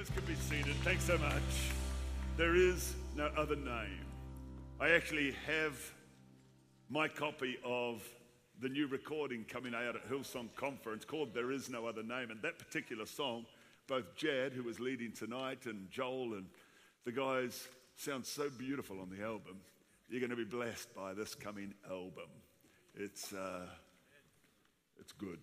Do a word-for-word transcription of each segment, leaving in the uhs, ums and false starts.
guys can be seated. Thanks so much. There is no other name. I actually have my copy of the new recording coming out at Hillsong Conference called There Is No Other Name. And that particular song, both Jad, who was leading tonight, and Joel and the guys sound so beautiful on the album. You're going to be blessed by this coming album. It's, uh, it's good.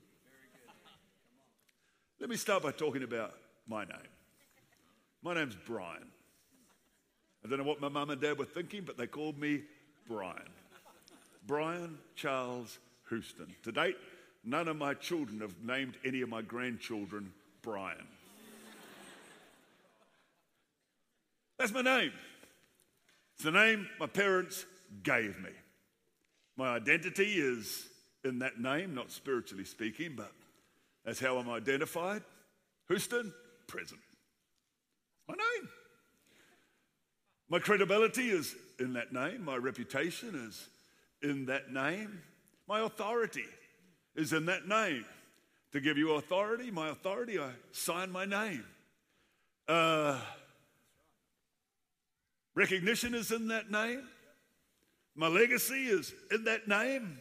Let me start by talking about my name. My name's Brian. I don't know what my mum and dad were thinking, but they called me Brian. Brian Charles Houston. To date, none of my children have named any of my grandchildren Brian. That's my name. It's the name my parents gave me. My identity is in that name, not spiritually speaking, but that's how I'm identified. Houston, present. My name. My credibility is in that name. My reputation is in that name. My authority is in that name. To give you authority, my authority, I sign my name. Uh, recognition is in that name. My legacy is in that name.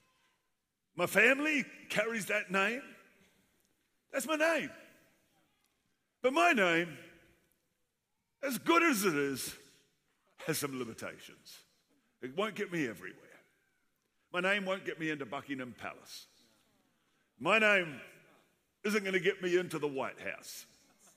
My family carries that name. That's my name. But my name, as good as it is, has some limitations. It won't get me everywhere. My name won't get me into Buckingham Palace. My name isn't going to get me into the White House.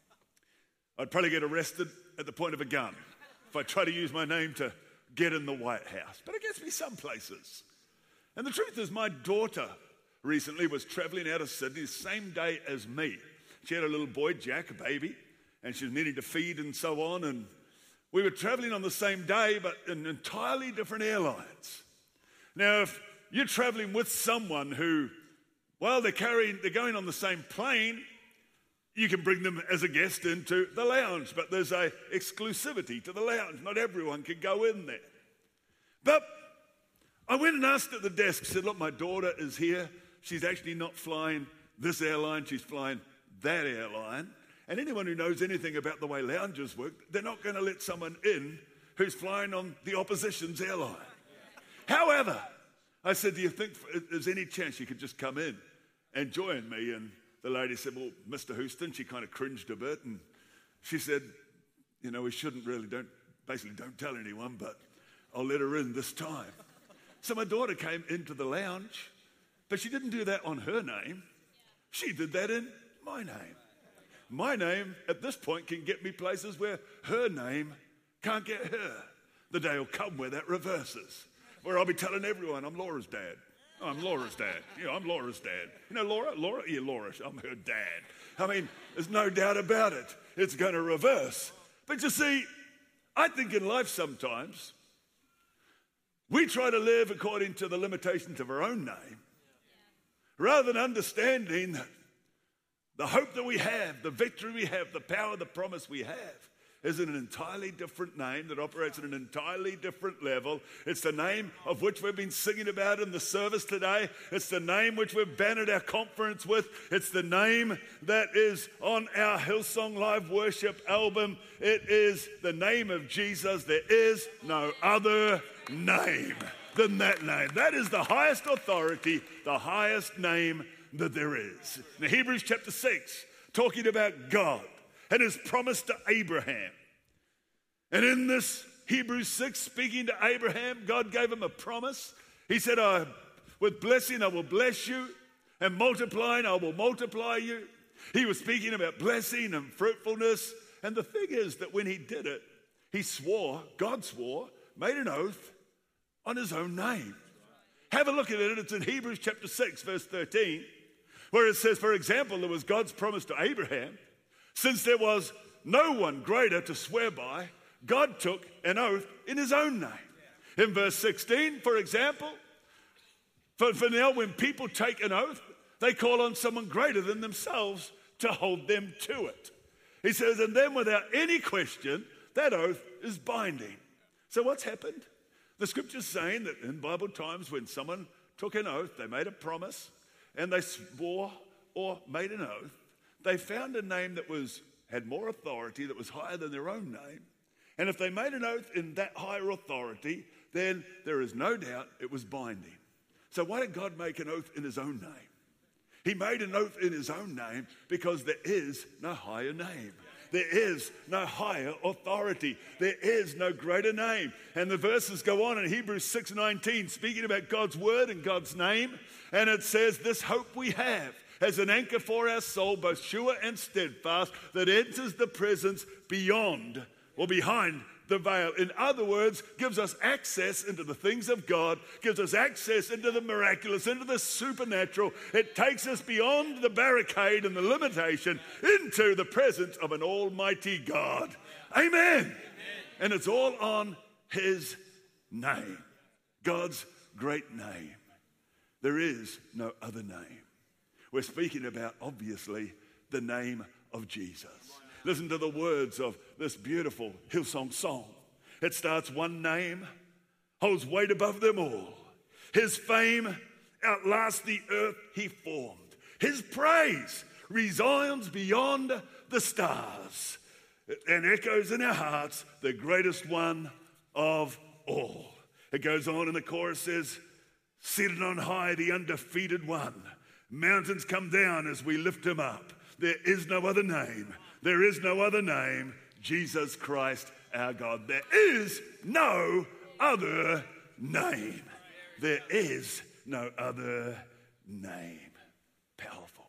I'd probably get arrested at the point of a gun if I try to use my name to get in the White House. But it gets me some places. And the truth is, my daughter recently was traveling out of Sydney the same day as me. She had a little boy, Jack, a baby, and she was needing to feed and so on. And we were traveling on the same day, but in entirely different airlines. Now, if you're traveling with someone who, well, they're carrying, they're going on the same plane, you can bring them as a guest into the lounge, but there's a exclusivity to the lounge. Not everyone can go in there. But I went and asked at the desk, said, look, my daughter is here. She's actually not flying this airline, she's flying that airline. And anyone who knows anything about the way lounges work, they're not going to let someone in who's flying on the opposition's airline. However, I said, do you think there's any chance you could just come in and join me? And the lady said, well, Mister Houston, she kind of cringed a bit. And she said, you know, we shouldn't really, don't basically don't tell anyone, but I'll let her in this time. So my daughter came into the lounge, but she didn't do that on her name. She did that in my name. My name, at this point, can get me places where her name can't get her. The day will come where that reverses, where I'll be telling everyone, I'm Laura's dad. Oh, I'm Laura's dad. You know, I'm Laura's dad. You know Laura? Laura? Yeah, Laura. I'm her dad. I mean, there's no doubt about it. It's going to reverse. But you see, I think in life sometimes, we try to live according to the limitations of our own name, rather than understanding that the hope that we have, the victory we have, the power, the promise we have is in an entirely different name that operates at an entirely different level. It's the name of which we've been singing about in the service today. It's the name which we've bannered our conference with. It's the name that is on our Hillsong Live Worship album. It is the name of Jesus. There is no other name than that name. That is the highest authority, the highest name that there is. In Hebrews chapter six, talking about God and his promise to Abraham. And in this Hebrews six, speaking to Abraham, God gave him a promise. He said, I, with blessing I will bless you, and multiplying I will multiply you. He was speaking about blessing and fruitfulness. And the thing is that when he did it, he swore, God swore, made an oath on his own name. Have a look at it. It's in Hebrews chapter six, verse thirteen, where it says, for example, there was God's promise to Abraham. Since there was no one greater to swear by, God took an oath in his own name. In verse sixteen, for example, for, for now when people take an oath, they call on someone greater than themselves to hold them to it. He says, and then without any question, that oath is binding. So what's happened? The scripture's saying that in Bible times when someone took an oath, they made a promise, and they swore or made an oath, they found a name that was had more authority that was higher than their own name. And if they made an oath in that higher authority, then there is no doubt it was binding. So why did God make an oath in his own name? He made an oath in his own name because there is no higher name. There is no higher authority. There is no greater name. And the verses go on in Hebrews six nineteen, speaking about God's word and God's name. And it says, this hope we have as an anchor for our soul, both sure and steadfast, that enters the presence beyond or behind the veil. In other words, gives us access into the things of God, gives us access into the miraculous, into the supernatural. It takes us beyond the barricade and the limitation into the presence of an almighty God. Amen. Amen. And it's all on his name, God's great name. There is no other name. We're speaking about, obviously, the name of Jesus. Listen to the words of this beautiful Hillsong song. It starts, one name holds weight above them all. His fame outlasts the earth he formed. His praise resounds beyond the stars and echoes in our hearts, the greatest one of all. It goes on and the chorus says, seated on high, the undefeated one. Mountains come down as we lift him up. There is no other name. There is no other name, Jesus Christ our God. There is no other name. There is no other name. Powerful.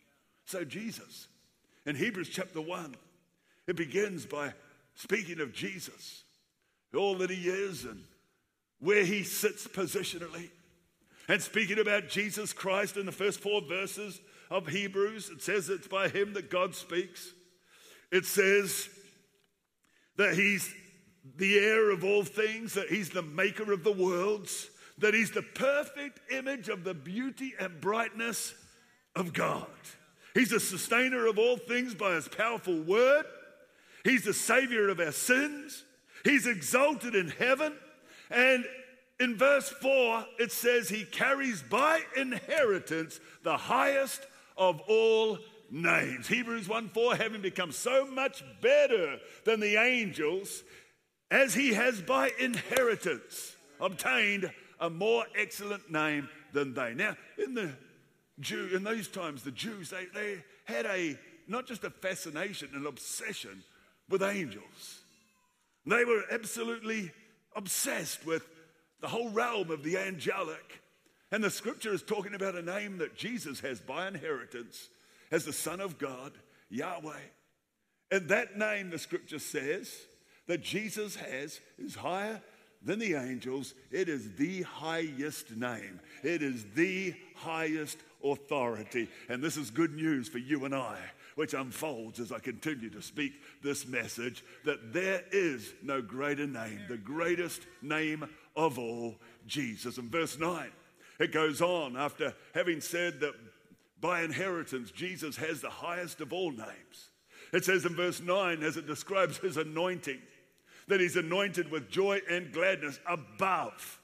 So Jesus, in Hebrews chapter one, it begins by speaking of Jesus, all that he is and where he sits positionally. And speaking about Jesus Christ in the first four verses of Hebrews, it says it's by him that God speaks. It says that he's the heir of all things, that he's the maker of the worlds, that he's the perfect image of the beauty and brightness of God. He's the sustainer of all things by his powerful word. He's the savior of our sins. He's exalted in heaven. And in verse four, it says he carries by inheritance the highest of all names. Hebrews one four, having become so much better than the angels, as he has by inheritance obtained a more excellent name than they. Now, in the Jew, in those times, the Jews, they, they had a not just a fascination, an obsession with angels. They were absolutely obsessed with the whole realm of the angelic. And the scripture is talking about a name that Jesus has by inheritance as the Son of God, Yahweh. And that name, the scripture says, that Jesus has is higher than the angels. It is the highest name. It is the highest authority. And this is good news for you and I, which unfolds as I continue to speak this message, that there is no greater name, the greatest name of all, Jesus. In verse nine, it goes on, after having said that by inheritance, Jesus has the highest of all names. It says in verse nine, as it describes his anointing, that he's anointed with joy and gladness above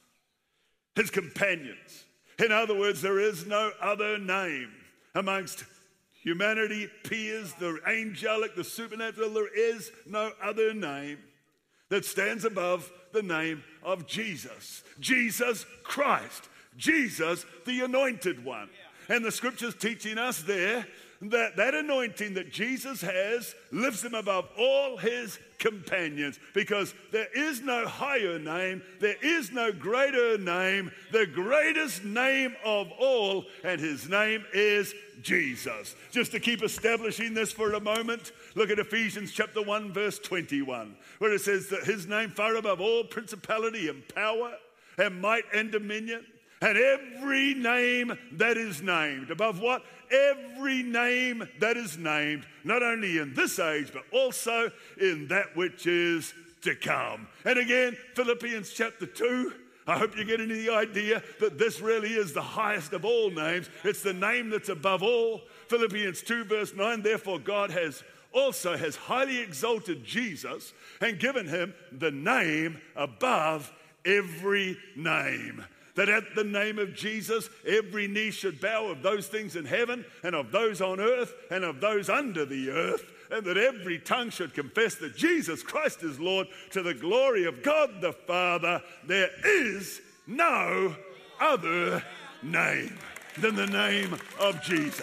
his companions. In other words, there is no other name amongst humanity, peers, the angelic, the supernatural. There is no other name that stands above the name of Jesus. Jesus Christ. Jesus, the anointed one. And the scripture's teaching us there that that anointing that Jesus has lifts him above all his companions, because there is no higher name, there is no greater name, the greatest name of all, and his name is Jesus. Just to keep establishing this for a moment, look at Ephesians chapter one verse twenty-one, where it says that his name far above all principality and power and might and dominion, and every name that is named. Above what? Every name that is named, not only in this age, but also in that which is to come. And again, Philippians chapter two, I hope you're getting the idea that this really is the highest of all names. It's the name that's above all. Philippians two verse nine, therefore God has also has highly exalted Jesus and given him the name above every name. That at the name of Jesus, every knee should bow, of those things in heaven and of those on earth and of those under the earth, and that every tongue should confess that Jesus Christ is Lord, to the glory of God the Father. There is no other name than the name of Jesus.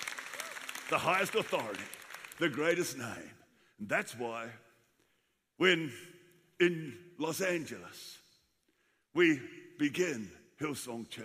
The highest authority, the greatest name. And that's why when in Los Angeles we begin Hillsong Church,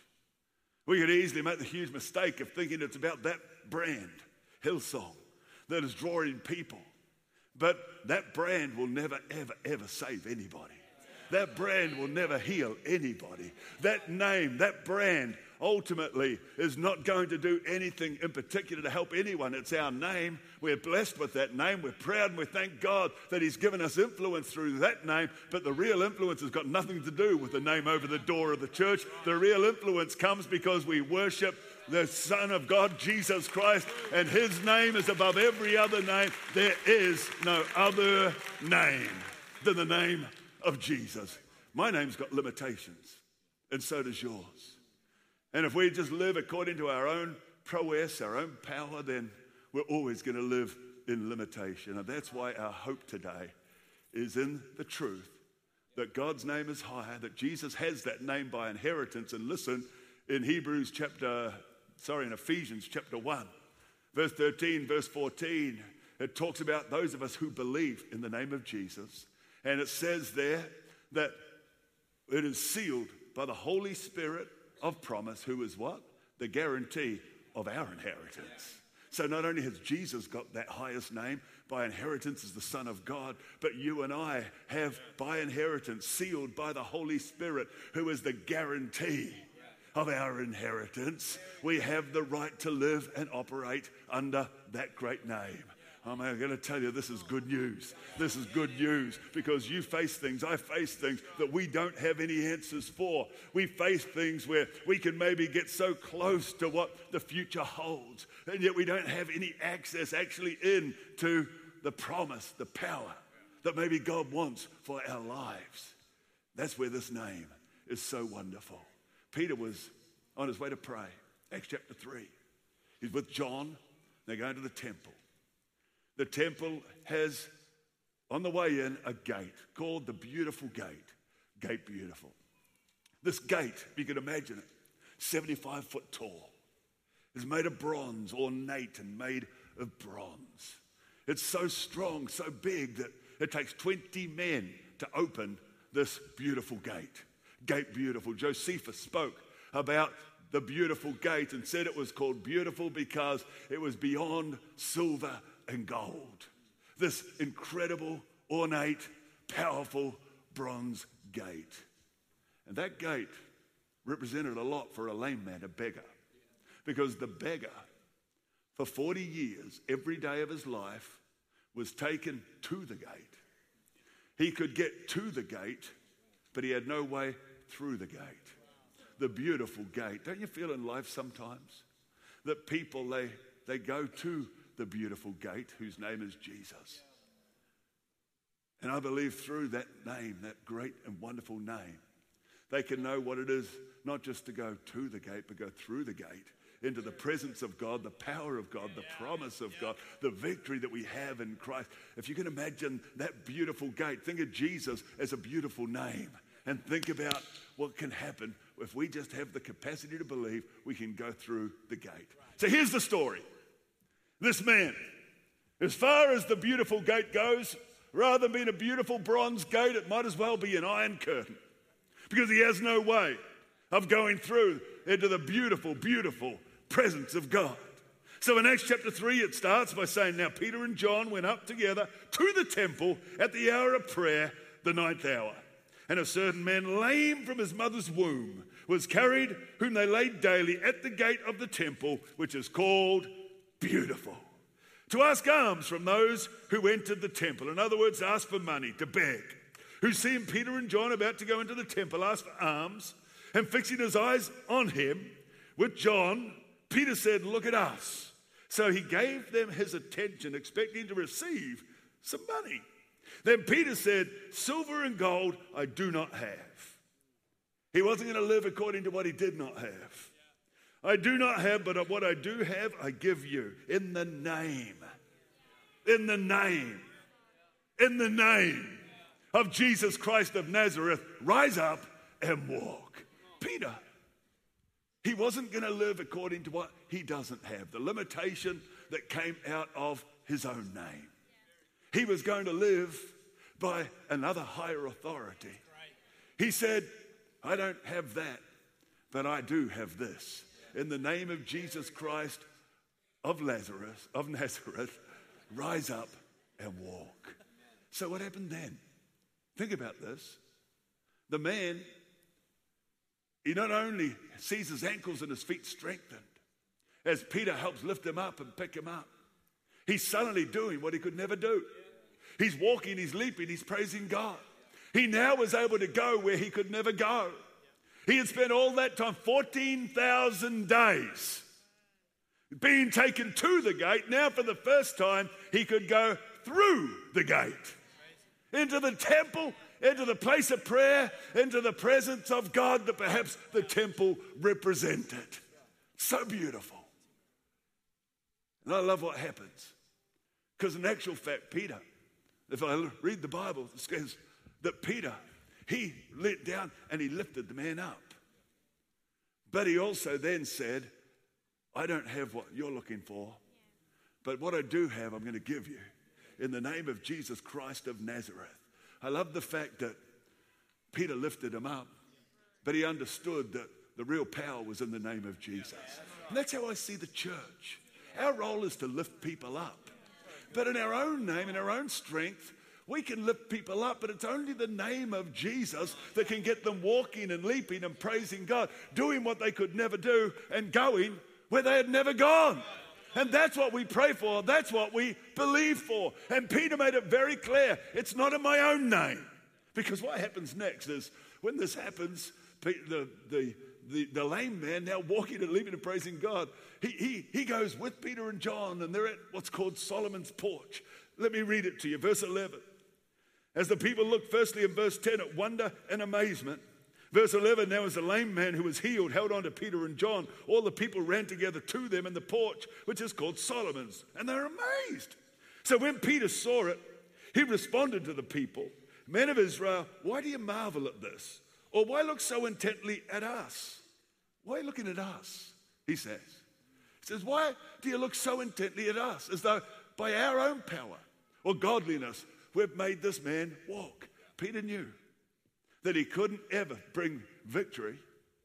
we could easily make the huge mistake of thinking it's about that brand, Hillsong, that is drawing people. But that brand will never, ever, ever save anybody. That brand will never heal anybody. That name, that brand, ultimately is not going to do anything in particular to help anyone. It's our name. We're blessed with that name. We're proud and we thank God that He's given us influence through that name. But the real influence has got nothing to do with the name over the door of the church. The real influence comes because we worship the Son of God, Jesus Christ, and His name is above every other name. There is no other name than the name of Jesus. My name's got limitations, and so does yours. And if we just live according to our own prowess, our own power, then we're always going to live in limitation. And that's why our hope today is in the truth that God's name is higher, that Jesus has that name by inheritance. And listen, in Hebrews chapter, sorry, in Ephesians chapter one, verse thirteen, verse fourteen, it talks about those of us who believe in the name of Jesus. And it says there that it is sealed by the Holy Spirit of promise, who is what? The guarantee of our inheritance. So not only has Jesus got that highest name by inheritance as the Son of God, but you and I have by inheritance, sealed by the Holy Spirit, who is the guarantee of our inheritance. We have the right to live and operate under that great name. I'm going to tell you, this is good news. This is good news because you face things, I face things that we don't have any answers for. We face things where we can maybe get so close to what the future holds, and yet we don't have any access actually into the promise, the power that maybe God wants for our lives. That's where this name is so wonderful. Peter was on his way to pray. Acts chapter three. He's with John. They're going to the temple. The temple has, on the way in, a gate called the Beautiful Gate. Gate Beautiful. This gate, if you can imagine it, seventy-five foot tall. It's made of bronze, ornate and made of bronze. It's so strong, so big that it takes twenty men to open this beautiful gate. Gate Beautiful. Josephus spoke about the beautiful gate and said it was called beautiful because it was beyond silver and gold. This incredible, ornate, powerful bronze gate. And that gate represented a lot for a lame man, a beggar. Because the beggar, for forty years, every day of his life, was taken to the gate. He could get to the gate, but he had no way through the gate. The beautiful gate. Don't you feel in life sometimes that people, they, they go to the beautiful gate whose name is Jesus? And I believe through that name, that great and wonderful name, they can know what it is, not just to go to the gate, but go through the gate into the presence of God, the power of God, the promise of God, the victory that we have in Christ. If you can imagine that beautiful gate, think of Jesus as a beautiful name and think about what can happen if we just have the capacity to believe we can go through the gate. So here's the story. This man, as far as the beautiful gate goes, rather than being a beautiful bronze gate, it might as well be an iron curtain because he has no way of going through into the beautiful, beautiful presence of God. So in Acts chapter three, it starts by saying, now Peter and John went up together to the temple at the hour of prayer, the ninth hour. And a certain man, lame from his mother's womb, was carried, whom they laid daily at the gate of the temple, which is called Beautiful, to ask alms from those who entered the temple. In other words, ask for money, to beg. Who, seeing Peter and John about to go into the temple, asked for alms, and fixing his eyes on him with John, Peter said, look at us. So he gave them his attention, expecting to receive some money. Then Peter said, silver and gold I do not have. He wasn't going to live according to what he did not have. I do not have, but what I do have, I give you. In the name In the name, in the name of Jesus Christ of Nazareth, rise up and walk. Peter, he wasn't going to live according to what he doesn't have, the limitation that came out of his own name. He was going to live by another higher authority. He said, I don't have that, but I do have this. In the name of Jesus Christ of Lazarus, of Nazareth, rise up and walk. So what happened then? Think about this. The man, he not only sees his ankles and his feet strengthened as Peter helps lift him up and pick him up. He's suddenly doing what he could never do. He's walking, he's leaping, he's praising God. He now was able to go where he could never go. He had spent all that time, fourteen thousand days, being taken to the gate. Now for the first time, he could go through the gate, into the temple, into the place of prayer, into the presence of God that perhaps the temple represented. So beautiful. And I love what happens. Because in actual fact, Peter, if I read the Bible, it says that Peter, he let down and he lifted the man up. But he also then said, I don't have what you're looking for, but what I do have, I'm going to give you in the name of Jesus Christ of Nazareth. I love the fact that Peter lifted him up, but he understood that the real power was in the name of Jesus. And that's how I see the church. Our role is to lift people up. But in our own name, in our own strength, we can lift people up, but it's only the name of Jesus that can get them walking and leaping and praising God, doing what they could never do and going where they had never gone. And that's what we pray for. That's what we believe for. And Peter made it very clear. It's not in my own name. Because what happens next is when this happens, the, the, the, the lame man now walking and leaping and praising God, he, he, he goes with Peter and John, and they're at what's called Solomon's porch. Let me read it to you. Verse eleven. As the people looked firstly in verse ten at wonder and amazement. Verse eleven, now as a lame man who was healed held on to Peter and John, all the people ran together to them in the porch, which is called Solomon's, and they were amazed. So when Peter saw it, he responded to the people, men of Israel, why do you marvel at this? Or why look so intently at us? Why are you looking at us? He says. He says, why do you look so intently at us? As though by our own power or godliness, we've made this man walk. Peter knew that he couldn't ever bring victory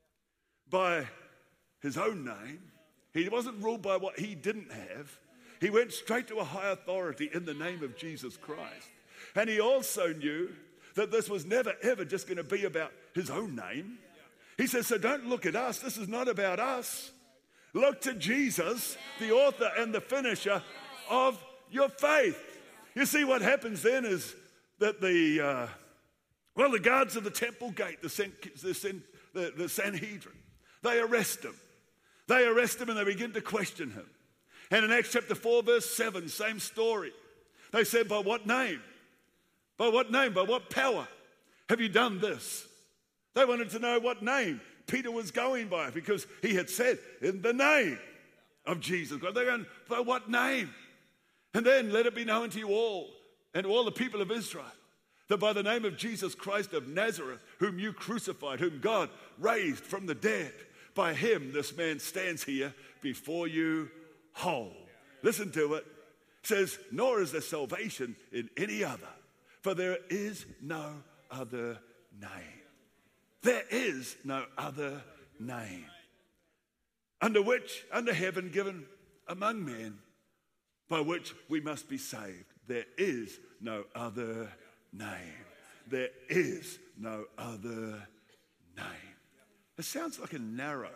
by his own name. He wasn't ruled by what he didn't have. He went straight to a high authority in the name of Jesus Christ. And he also knew that this was never, ever just going to be about his own name. He says, so don't look at us. This is not about us. Look to Jesus, the author and the finisher of your faith. You see, what happens then is that the, uh, well, the guards of the temple gate, the, San, the, San, the, the Sanhedrin, they arrest him. They arrest him and they begin to question him. And in Acts chapter four, verse seven, same story. They said, by what name? By what name? By what power have you done this? They wanted to know what name Peter was going by because he had said, in the name of Jesus. They're going, by what name? And then let it be known to you all and to all the people of Israel that by the name of Jesus Christ of Nazareth, whom you crucified, whom God raised from the dead, by him this man stands here before you whole. Listen to it. It says, nor is there salvation in any other, for there is no other name. There is no other name under which, under heaven given among men, by which we must be saved. There is no other name. There is no other name. It sounds like a narrow,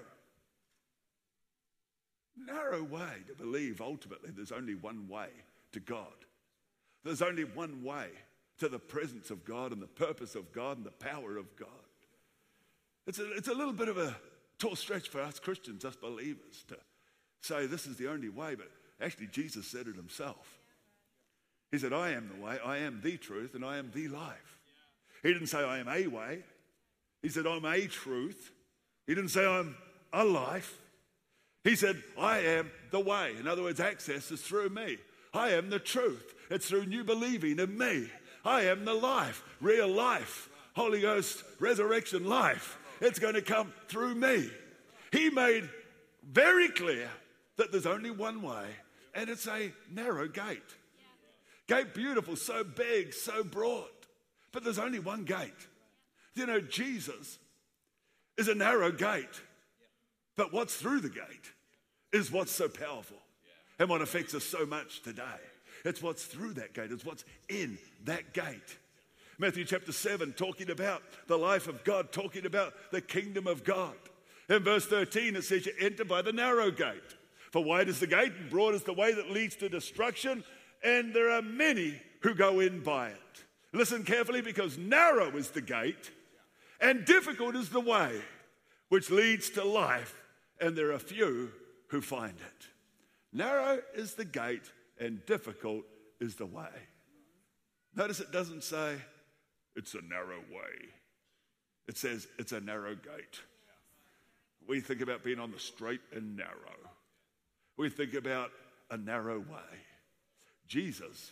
narrow way to believe ultimately there's only one way to God. There's only one way to the presence of God and the purpose of God and the power of God. It's a, it's a little bit of a tall stretch for us Christians, us believers, to say this is the only way, but actually Jesus said it himself. He said, I am the way, I am the truth, and I am the life. He didn't say I am a way. He said I'm a truth. He didn't say I'm a life. He said I am the way. In other words, access is through me. I am the truth. It's through new believing in me. I am the life, real life, Holy Ghost, resurrection life. It's going to come through me. He made very clear that there's only one way, and it's a narrow gate. Gate beautiful, so big, so broad, but there's only one gate. You know, Jesus is a narrow gate, but what's through the gate is what's so powerful and what affects us so much today. It's what's through that gate. It's what's in that gate. Matthew chapter seven, talking about the life of God, talking about the kingdom of God. In verse thirteen, it says, you enter by the narrow gate. For wide is the gate and broad is the way that leads to destruction, and there are many who go in by it. Listen carefully, because narrow is the gate and difficult is the way which leads to life, and there are few who find it. Narrow is the gate and difficult is the way. Notice it doesn't say it's a narrow way. It says it's a narrow gate. We think about being on the straight and narrow. We think about a narrow way. Jesus,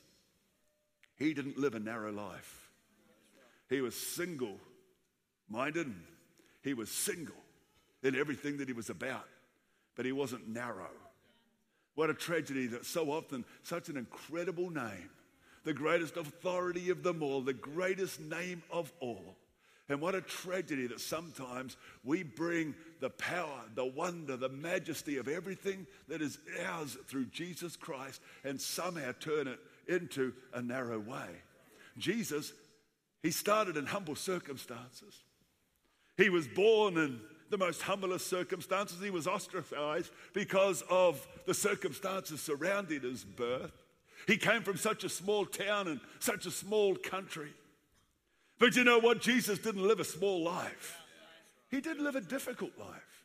he didn't live a narrow life. He was single-minded. He was single in everything that he was about, but he wasn't narrow. What a tragedy that so often such an incredible name, the greatest authority of them all, the greatest name of all. And what a tragedy that sometimes we bring the power, the wonder, the majesty of everything that is ours through Jesus Christ and somehow turn it into a narrow way. Jesus, he started in humble circumstances. He was born in the most humblest circumstances. He was ostracized because of the circumstances surrounding his birth. He came from such a small town and such a small country. But you know what? Jesus didn't live a small life. He did live a difficult life.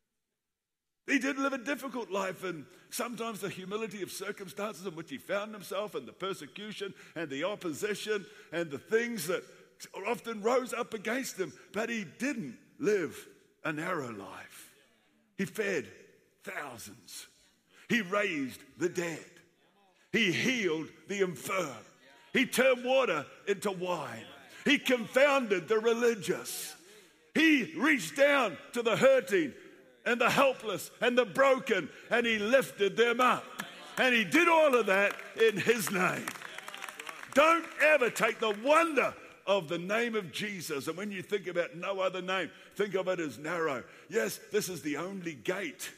He did live a difficult life, and sometimes the humility of circumstances in which he found himself and the persecution and the opposition and the things that often rose up against him. But he didn't live a narrow life. He fed thousands. He raised the dead. He healed the infirm. He turned water into wine. He confounded the religious. He reached down to the hurting and the helpless and the broken, and he lifted them up. And he did all of that in his name. Don't ever take the wonder of the name of Jesus, and when you think about no other name, think of it as narrow. Yes, this is the only gate.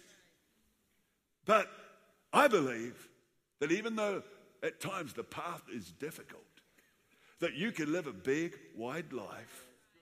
But I believe that even though at times the path is difficult, that you can live a big, wide life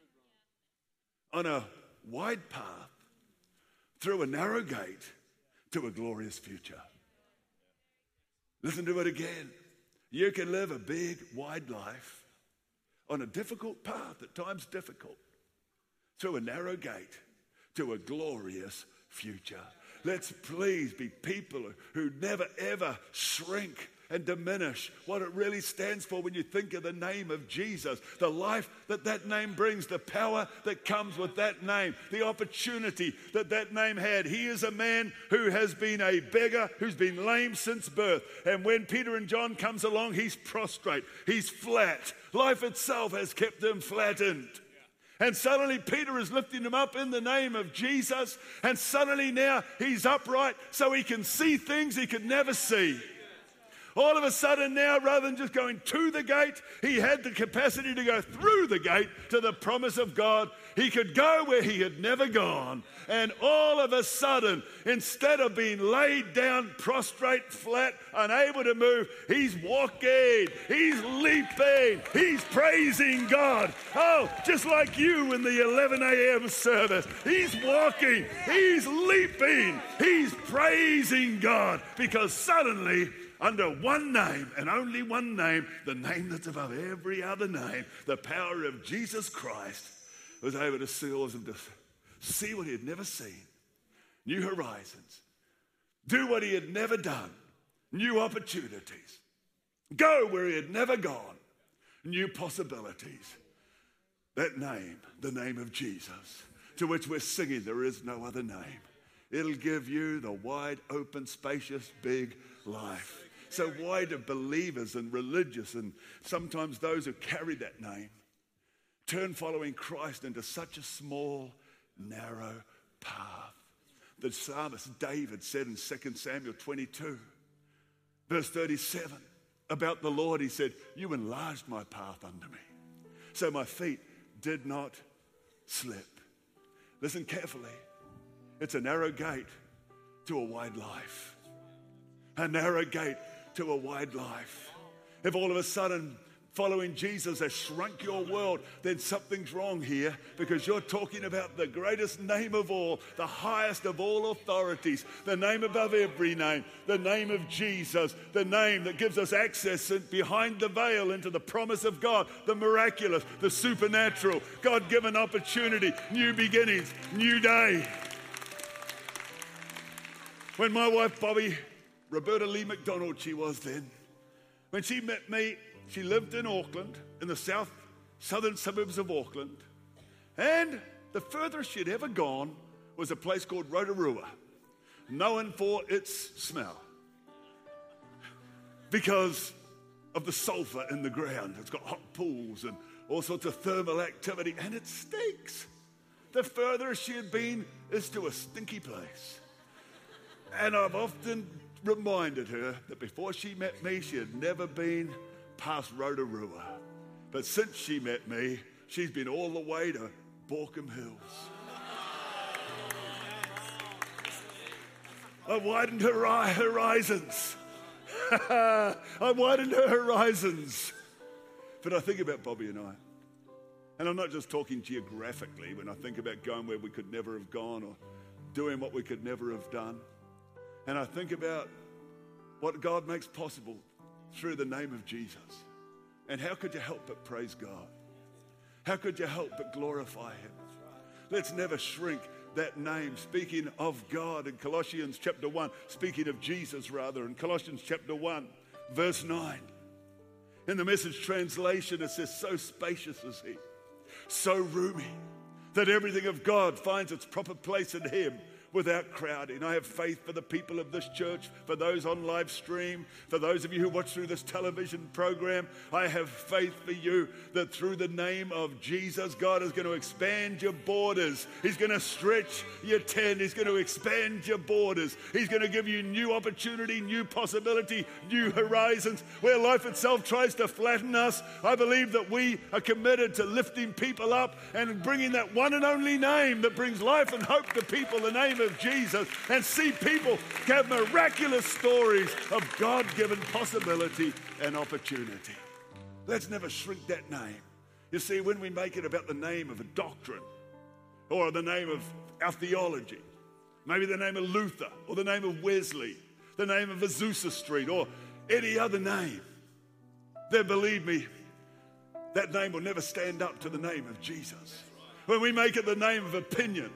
on a wide path through a narrow gate to a glorious future. Listen to it again. You can live a big, wide life on a difficult path, at times difficult, through a narrow gate to a glorious future. Let's please be people who never ever shrink and diminish what it really stands for when you think of the name of Jesus, the life that that name brings, the power that comes with that name, the opportunity that that name had. He is a man who has been a beggar, who's been lame since birth. And when Peter and John comes along, he's prostrate, he's flat. Life itself has kept him flattened. And suddenly Peter is lifting him up in the name of Jesus, and suddenly now he's upright so he can see things he could never see. All of a sudden now, rather than just going to the gate, he had the capacity to go through the gate to the promise of God. He could go where he had never gone. And all of a sudden, instead of being laid down, prostrate, flat, unable to move, he's walking, he's leaping, he's praising God. Oh, just like you in the eleven a.m. service. He's walking, he's leaping, he's praising God, because suddenly, under one name and only one name, the name that's above every other name, the power of Jesus Christ, was able to see, to see what he had never seen, new horizons, do what he had never done, new opportunities, go where he had never gone, new possibilities. That name, the name of Jesus, to which we're singing, there is no other name. It'll give you the wide open, spacious, big life. So why do believers and religious and sometimes those who carry that name turn following Christ into such a small, narrow path? The psalmist David said in Second Samuel twenty-two, verse thirty-seven, about the Lord, he said, you enlarged my path under me, so my feet did not slip. Listen carefully. It's a narrow gate to a wide life. A narrow gate to a wide life. If all of a sudden following Jesus has shrunk your world, then something's wrong here, because you're talking about the greatest name of all, the highest of all authorities, the name above every name, the name of Jesus, the name that gives us access behind the veil into the promise of God, the miraculous, the supernatural, God-given opportunity, new beginnings, new day. When my wife Bobby, Roberta Lee McDonald she was then, when she met me, she lived in Auckland, in the south, southern suburbs of Auckland. And the furthest she'd ever gone was a place called Rotorua, known for its smell because of the sulfur in the ground. It's got hot pools and all sorts of thermal activity, and it stinks. The furthest she had been is to a stinky place. And I've often reminded her that before she met me, she had never been past Rotorua. But since she met me, she's been all the way to Borkham Hills. I widened her horizons. I widened her horizons. But I think about Bobby and I. And I'm not just talking geographically when I think about going where we could never have gone or doing what we could never have done. And I think about what God makes possible through the name of Jesus. And how could you help but praise God? How could you help but glorify him? Let's never shrink that name. Speaking of God in Colossians chapter one, speaking of Jesus rather, in Colossians chapter one, verse nine. In the Message translation, it says, so spacious is he, so roomy, that everything of God finds its proper place in him, without crowding. I have faith for the people of this church, for those on live stream, for those of you who watch through this television program. I have faith for you that through the name of Jesus, God is going to expand your borders. He's going to stretch your tent. He's going to expand your borders. He's going to give you new opportunity, new possibility, new horizons. Where life itself tries to flatten us, I believe that we are committed to lifting people up and bringing that one and only name that brings life and hope to people, the name of Jesus, and see people have miraculous stories of God-given possibility and opportunity. Let's never shrink that name. You see, when we make it about the name of a doctrine or the name of our theology, maybe the name of Luther or the name of Wesley, the name of Azusa Street or any other name, then believe me, that name will never stand up to the name of Jesus. When we make it the name of opinion,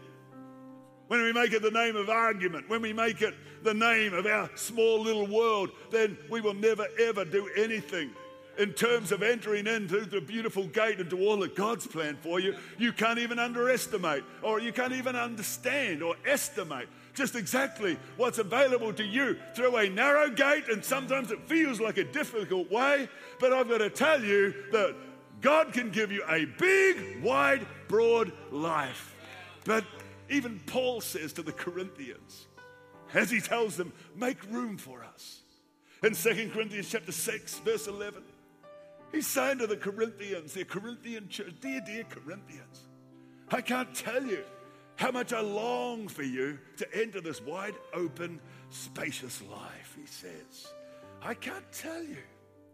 when we make it the name of argument, when we make it the name of our small little world, then we will never ever do anything in terms of entering into the beautiful gate into all that God's planned for you. You can't even underestimate, or you can't even understand or estimate just exactly what's available to you through a narrow gate, and sometimes it feels like a difficult way, but I've got to tell you that God can give you a big, wide, broad life. But even Paul says to the Corinthians, as he tells them, make room for us. In Second Corinthians chapter six, verse eleven, he's saying to the Corinthians, the Corinthian church, dear, dear Corinthians, I can't tell you how much I long for you to enter this wide open, spacious life, he says. I can't tell you.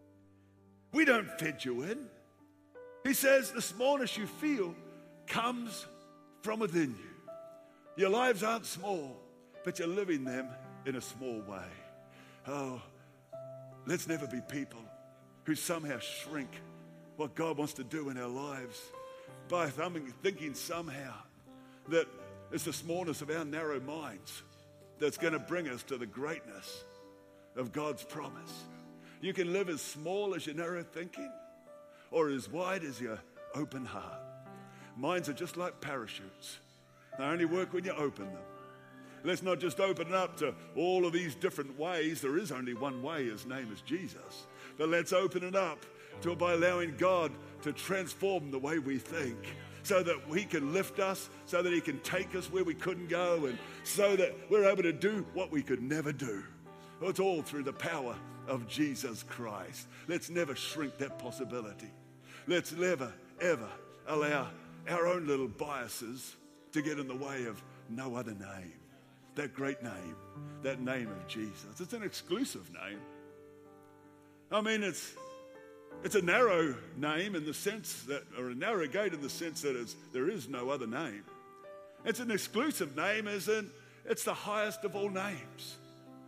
We don't fit you in. He says the smallness you feel comes from within you. Your lives aren't small, but you're living them in a small way. Oh, let's never be people who somehow shrink what God wants to do in our lives by thinking somehow that it's the smallness of our narrow minds that's going to bring us to the greatness of God's promise. You can live as small as your narrow thinking or as wide as your open heart. Minds are just like parachutes. They only work when you open them. Let's not just open it up to all of these different ways. There is only one way. His name is Jesus. But let's open it up to by allowing God to transform the way we think, so that He can lift us, so that He can take us where we couldn't go, and so that we're able to do what we could never do. It's all through the power of Jesus Christ. Let's never shrink that possibility. Let's never, ever allow our own little biases to get in the way of no other name. That great name, that name of Jesus. It's an exclusive name. I mean, it's it's a narrow name in the sense that, or a narrow gate in the sense that it's, there is no other name. It's an exclusive name as in it's the highest of all names.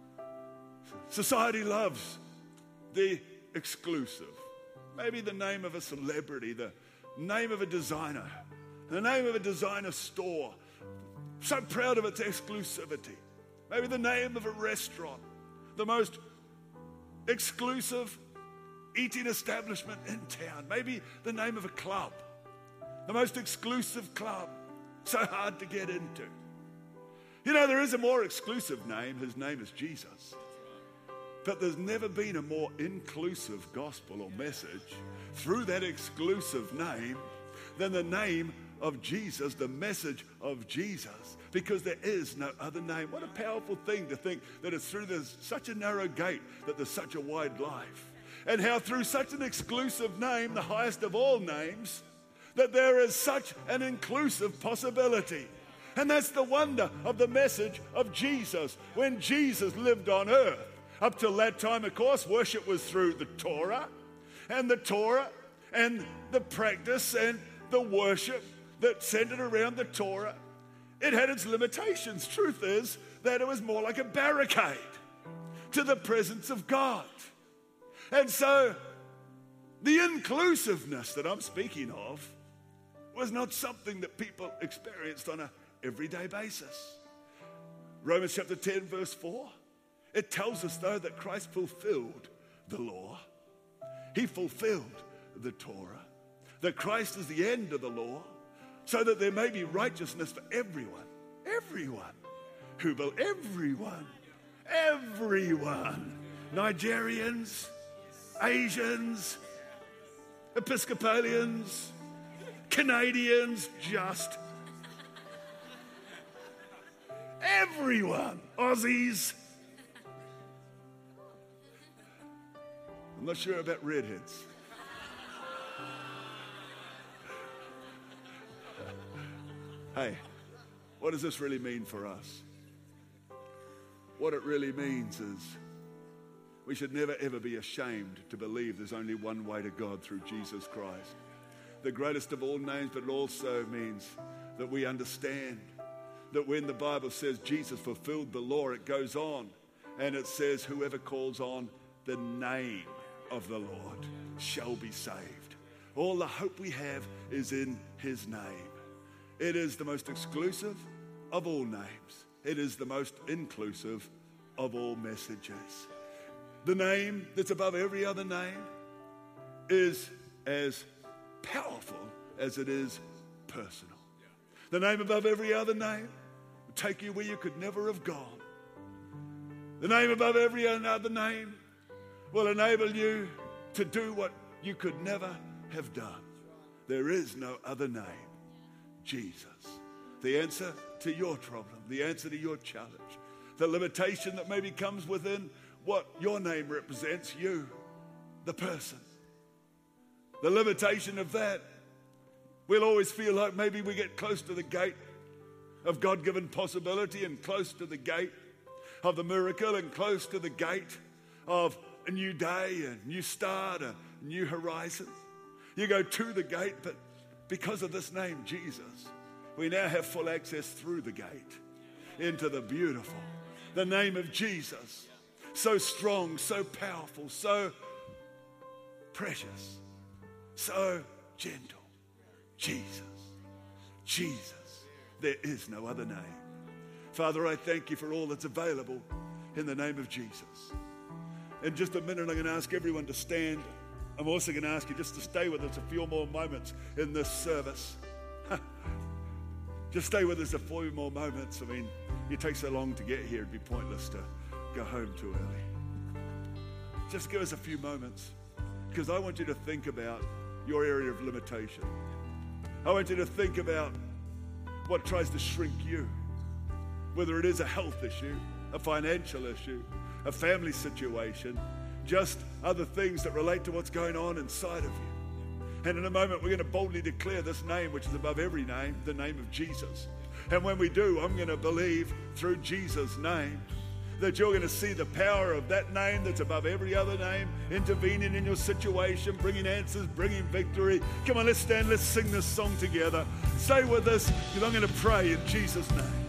Society loves the exclusive. Maybe the name of a celebrity, the name of a designer, the name of a designer store. So proud of its exclusivity. Maybe the name of a restaurant, the most exclusive eating establishment in town. Maybe the name of a club, the most exclusive club, so hard to get into. You know, there is a more exclusive name. His name is Jesus. But there's never been a more inclusive gospel or message through that exclusive name than the name of Jesus, the message of Jesus, because there is no other name. What a powerful thing to think that it's through this, such a narrow gate that there's such a wide life. And how through such an exclusive name, the highest of all names, that there is such an inclusive possibility. And that's the wonder of the message of Jesus. When Jesus lived on earth, up till that time, of course, worship was through the Torah, and the Torah and the practice and the worship that centered around the Torah. It had its limitations. Truth is that it was more like a barricade to the presence of God. And so the inclusiveness that I'm speaking of was not something that people experienced on an everyday basis. Romans chapter ten, verse four, it tells us, though, that Christ fulfilled the law. He fulfilled the Torah. That Christ is the end of the law, so that there may be righteousness for everyone. Everyone who will, everyone, everyone. Nigerians, Asians, Episcopalians, Canadians, just everyone. Aussies. I'm not sure about redheads. Hey, what does this really mean for us? What it really means is we should never ever be ashamed to believe there's only one way to God through Jesus Christ. The greatest of all names, but it also means that we understand that when the Bible says Jesus fulfilled the law, it goes on and it says whoever calls on the name of the Lord shall be saved. All the hope we have is in His name. It is the most exclusive of all names. It is the most inclusive of all messages. The name that's above every other name is as powerful as it is personal. The name above every other name will take you where you could never have gone. The name above every other name will enable you to do what you could never have done. There is no other name. Jesus. The answer to your problem, the answer to your challenge, the limitation that maybe comes within what your name represents, you, the person. The limitation of that, we'll always feel like maybe we get close to the gate of God-given possibility and close to the gate of the miracle and close to the gate of a new day, a new start, a new horizon. You go to the gate, but because of this name, Jesus, we now have full access through the gate into the beautiful. The name of Jesus, so strong, so powerful, so precious, so gentle. Jesus, Jesus, there is no other name. Father, I thank you for all that's available in the name of Jesus. In just a minute, I'm going to ask everyone to stand. I'm also going to ask you just to stay with us a few more moments in this service. Just stay with us a few more moments. I mean, you take so long to get here, it'd be pointless to go home too early. Just give us a few moments, because I want you to think about your area of limitation. I want you to think about what tries to shrink you, whether it is a health issue, a financial issue, a family situation, just other things that relate to what's going on inside of you. And in a moment, we're going to boldly declare this name, which is above every name, the name of Jesus. And when we do, I'm going to believe through Jesus' name that you're going to see the power of that name that's above every other name, intervening in your situation, bringing answers, bringing victory. Come on, let's stand, let's sing this song together. Stay with us, because I'm going to pray in Jesus' name.